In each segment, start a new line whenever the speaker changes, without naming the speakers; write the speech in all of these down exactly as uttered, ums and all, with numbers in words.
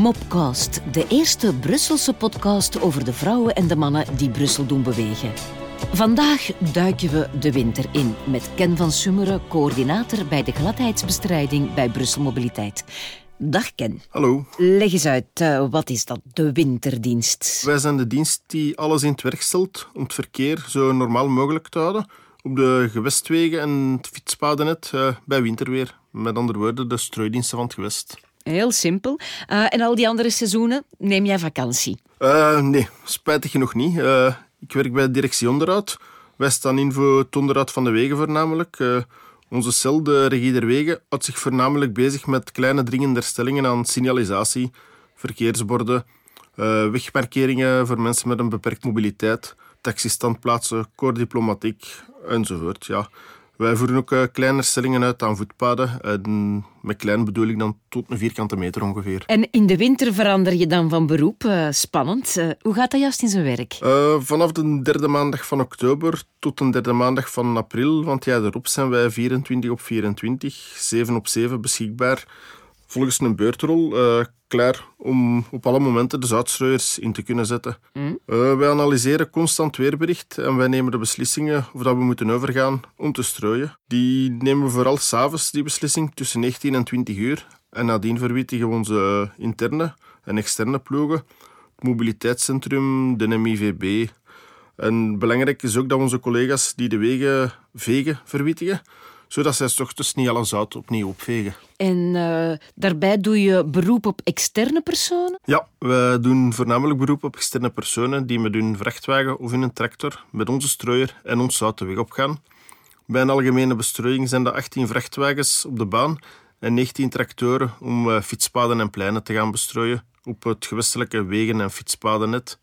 Mopcast, de eerste Brusselse podcast over de vrouwen en de mannen die Brussel doen bewegen. Vandaag duiken we de winter in met Ken van Summeren, coördinator bij de gladheidsbestrijding bij Brussel Mobiliteit. Dag Ken.
Hallo.
Leg eens uit, uh, wat is dat, de winterdienst?
Wij zijn de dienst die alles in het werk stelt om het verkeer zo normaal mogelijk te houden op de gewestwegen en het fietspadennet uh, bij winterweer. Met andere woorden, de strooidiensten van het gewest.
Heel simpel. Uh, en al die andere seizoenen, neem jij vakantie?
Uh, nee, spijtig genoeg niet. Uh, ik werk bij de directie onderhoud. Wij staan in voor het onderhoud van de wegen voornamelijk. Uh, onze cel, de regie der wegen, houdt zich voornamelijk bezig met kleine dringende herstellingen aan signalisatie, verkeersborden, uh, wegmarkeringen voor mensen met een beperkte mobiliteit, taxistandplaatsen, corps diplomatiek enzovoort. Ja. Wij voeren ook uh, kleine herstellingen uit aan voetpaden. En met klein bedoel ik dan tot een vierkante meter ongeveer.
En in de winter verander je dan van beroep. Uh, spannend. Uh, hoe gaat dat juist in zijn werk?
Uh, vanaf de derde maandag van oktober tot de derde maandag van april, want ja, erop zijn wij vierentwintig op vierentwintig, zeven op zeven beschikbaar. Volgens een beurtrol, uh, klaar om op alle momenten de zoutstrooiers in te kunnen zetten. Mm. Uh, wij analyseren constant weerbericht en wij nemen de beslissingen of dat we moeten overgaan om te strooien. Die nemen we vooral 's avonds, die beslissing, tussen negentien en twintig uur. En nadien verwittigen we onze interne en externe ploegen, het mobiliteitscentrum, de M I V B. En belangrijk is ook dat onze collega's die de wegen vegen verwittigen, zodat zij 's ochtends niet alle zout opnieuw opvegen.
En uh, daarbij doe je beroep op externe personen?
Ja, wij doen voornamelijk beroep op externe personen die met hun vrachtwagen of in een tractor met onze strooier en ons zout de weg opgaan. Bij een algemene bestrooiing zijn er achttien vrachtwagens op de baan en negentien tractoren om uh, fietspaden en pleinen te gaan bestrooien op het gewestelijke wegen- en fietspadennet.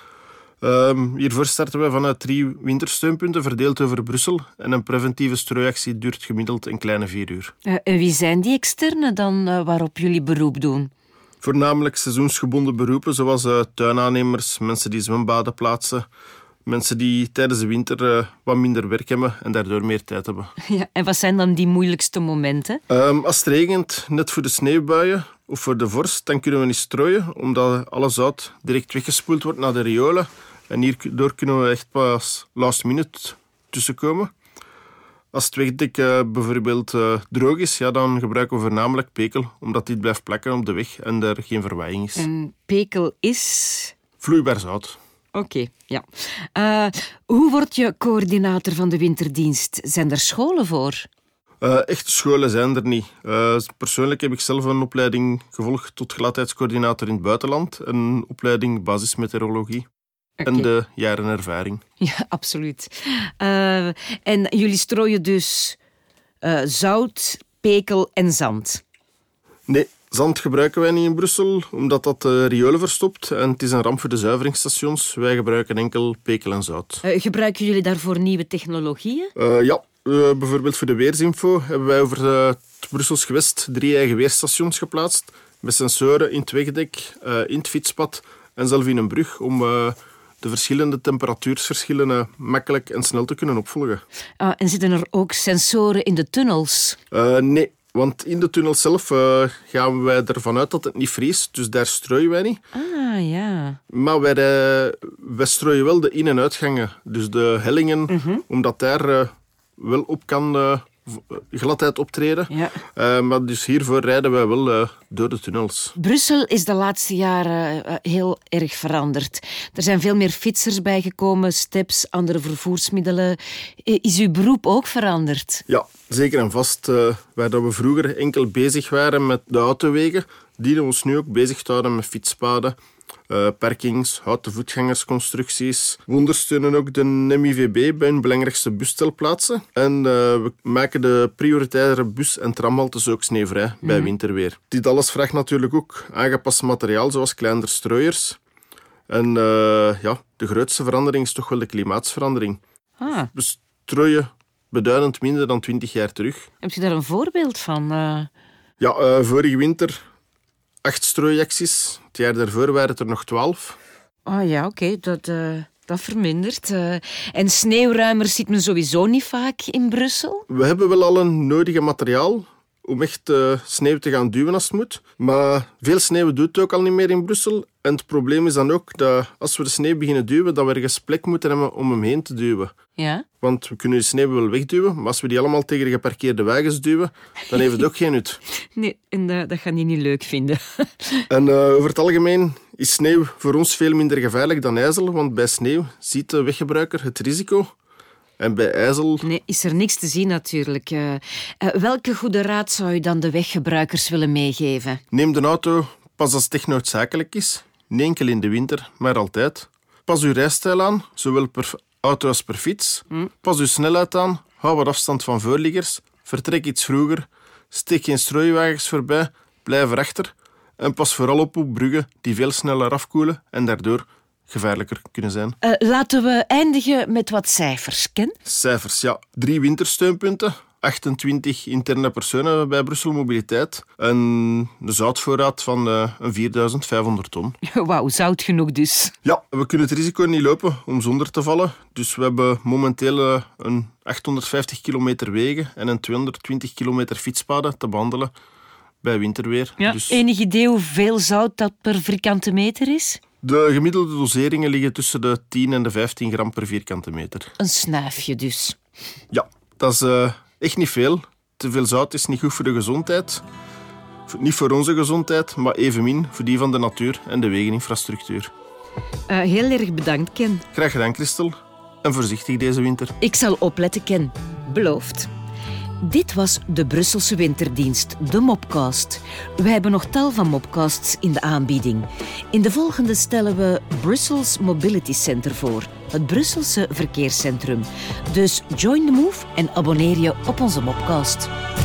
Um, hiervoor starten we vanuit drie wintersteunpunten verdeeld over Brussel en een preventieve strooiactie duurt gemiddeld een kleine vier uur.
Uh, en wie zijn die externe dan uh, waarop jullie beroep doen?
Voornamelijk seizoensgebonden beroepen zoals uh, tuinaannemers, mensen die zwembaden plaatsen, mensen die tijdens de winter uh, wat minder werk hebben en daardoor meer tijd hebben.
Ja, en wat zijn dan die moeilijkste momenten?
Um, als het regent, net voor de sneeuwbuien of voor de vorst, dan kunnen we niet strooien, omdat alle zout direct weggespoeld wordt naar de riolen. En hierdoor kunnen we echt pas last minute tussenkomen. Als het wegdek uh, bijvoorbeeld uh, droog is, ja, dan gebruiken we voornamelijk pekel, omdat dit blijft plakken op de weg en er geen verwaaiing is.
En pekel is?
Vloeibaar zout.
Oké, okay, ja. Uh, hoe word je coördinator van de winterdienst? Zijn er scholen voor?
Uh, echte scholen zijn er niet. Uh, persoonlijk heb ik zelf een opleiding gevolgd tot gladheidscoördinator in het buitenland. Een opleiding basismeteorologie. Okay. En de jaren ervaring.
Ja, absoluut. Uh, en jullie strooien dus uh, zout, pekel en zand?
Nee, zand gebruiken wij niet in Brussel, omdat dat uh, riolen verstopt. En het is een ramp voor de zuiveringsstations. Wij gebruiken enkel pekel en zout.
Uh, gebruiken jullie daarvoor nieuwe technologieën?
Uh, ja, uh, bijvoorbeeld voor de weersinfo hebben wij over uh, het Brussels gewest drie eigen weerstations geplaatst. Met sensoren in het wegdek, uh, in het fietspad en zelf in een brug om Uh, de verschillende temperatuursverschillen uh, makkelijk en snel te kunnen opvolgen.
Ah, en zitten er ook sensoren in de tunnels?
Uh, nee, want in de tunnel zelf uh, gaan wij ervan uit dat het niet vriest, dus daar strooien wij niet.
Ah, ja.
Maar wij, uh, wij strooien wel de in- en uitgangen, dus de hellingen, mm-hmm. omdat daar uh, wel op kan uh, gladheid optreden.
Ja.
Uh, maar dus hiervoor rijden wij wel uh, door de tunnels.
Brussel is de laatste jaren uh, heel erg veranderd. Er zijn veel meer fietsers bijgekomen, steps, andere vervoersmiddelen. Is uw beroep ook veranderd?
Ja, zeker en vast. Uh, waar dat we vroeger enkel bezig waren met de autowegen, dienen we ons nu ook bezig te houden met fietspaden, Uh, parkings, houten voetgangersconstructies. We ondersteunen ook de M I V B bij hun belangrijkste busstelplaatsen. En uh, we maken de prioritaire bus- en tramhaltes ook sneeuwvrij mm-hmm. bij winterweer. Dit alles vraagt natuurlijk ook aangepast materiaal, zoals kleinere strooiers. En uh, ja, de grootste verandering is toch wel de klimaatsverandering.
Ah.
We strooien beduidend minder dan twintig jaar terug.
Heb je daar een voorbeeld van? Uh...
Ja, uh, vorige winter acht strooiacties. Het jaar daarvoor waren het er nog twaalf.
Oh ja, oké. Okay. Dat, uh, dat vermindert. Uh, en sneeuwruimers ziet men sowieso niet vaak in Brussel?
We hebben wel al een nodige materiaal om echt uh, sneeuw te gaan duwen als het moet. Maar veel sneeuw doet het ook al niet meer in Brussel. En het probleem is dan ook dat als we de sneeuw beginnen duwen, dat we ergens plek moeten hebben om hem heen te duwen.
Ja?
Want we kunnen de sneeuw wel wegduwen, maar als we die allemaal tegen de geparkeerde wagens duwen, dan heeft het ook geen nut.
Nee, en uh, dat gaan die niet leuk vinden.
En uh, over het algemeen is sneeuw voor ons veel minder gevaarlijk dan ijzel, want bij sneeuw ziet de weggebruiker het risico. En bij ijzel...
Nee, is er niks te zien natuurlijk. Uh, uh, welke goede raad zou je dan de weggebruikers willen meegeven?
Neem de auto pas als het echt noodzakelijk is. Niet enkel in de winter, maar altijd. Pas uw rijstijl aan, zowel per auto als per fiets. Hm. Pas uw snelheid aan, hou wat afstand van voorliggers. Vertrek iets vroeger. Steek geen strooiwagens voorbij, blijf erachter. En pas vooral op op bruggen die veel sneller afkoelen en daardoor gevaarlijker kunnen zijn.
Uh, laten we eindigen met wat cijfers, Ken.
Cijfers, ja. Drie wintersteunpunten, achtentwintig interne personen bij Brussel Mobiliteit en een zoutvoorraad van uh, vierduizend vijfhonderd ton.
Wauw, zout genoeg dus.
Ja, we kunnen het risico niet lopen om zonder te vallen. Dus we hebben momenteel uh, een achthonderdvijftig kilometer wegen en een tweehonderdtwintig kilometer fietspaden te behandelen bij winterweer.
Ja,
dus...
Enig idee hoeveel zout dat per vierkante meter is?
De gemiddelde doseringen liggen tussen de tien en de vijftien gram per vierkante meter.
Een snuifje dus.
Ja, dat is uh, echt niet veel. Te veel zout is niet goed voor de gezondheid. Niet voor onze gezondheid, maar evenmin voor die van de natuur en de wegeninfrastructuur.
Uh, heel erg bedankt, Ken.
Graag gedaan, Christel. En voorzichtig deze winter.
Ik zal opletten, Ken. Beloofd. Dit was de Brusselse winterdienst, de Mopcast. We hebben nog tal van Mopcasts in de aanbieding. In de volgende stellen we Brussels Mobility Center voor, het Brusselse verkeerscentrum. Dus join the move en abonneer je op onze Mopcast.